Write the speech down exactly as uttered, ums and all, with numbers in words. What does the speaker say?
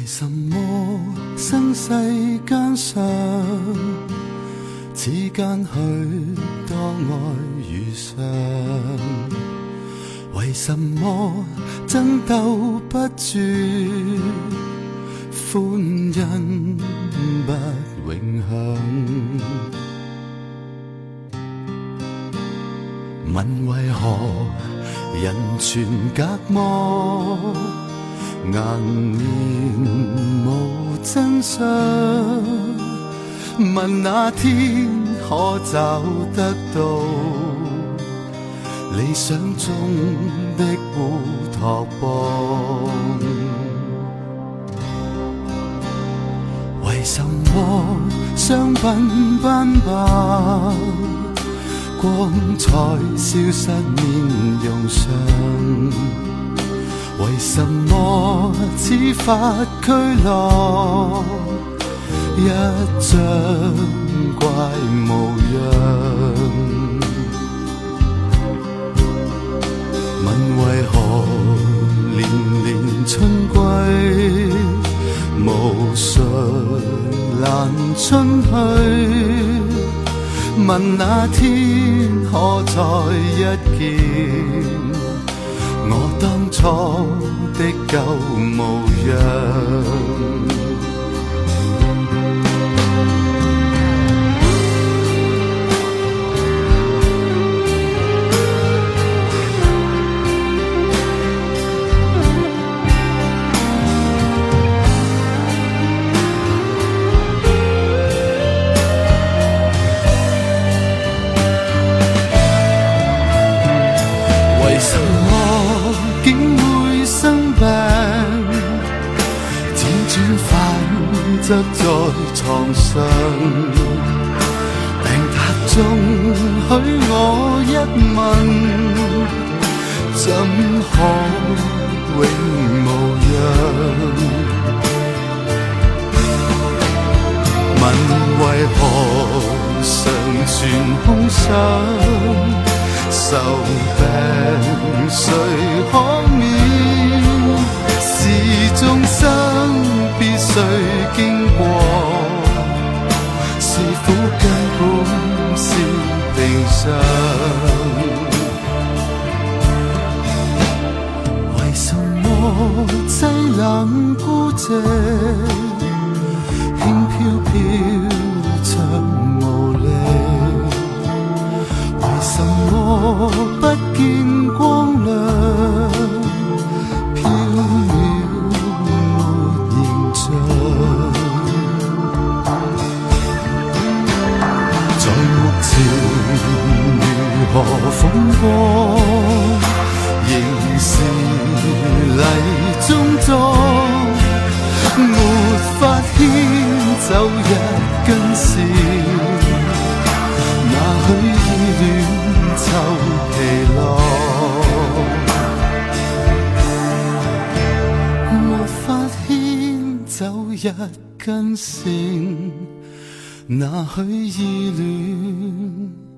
什麼生世間上，之間許多愛遇上？為什麼爭鬥不絕，歡欣不永享？問為何人全隔膜，顏面無真相？問那天可找得到理想中的烏托邦？為什麼商品斑白，光彩消失面容上？為什麼似法俱樂一張怪模樣？問為何年年春歸，無誰攔春去？問那天可再一見我當初的舊模樣？為什麼竟會生病，輾轉反側在床上？病榻中許我一問，怎可永無恙？問為何常存空想？愁病誰可免？是眾生必須經過，是苦根本是定常。為什麼凄冷孤寂，輕飄飄像無力？為什麼不見光亮，飄渺沒形象？在目前如何風波，仍是泥中裝，沒法牽走一根線。那許意戀湊疲樂，沒法牽走一根線。那許意戀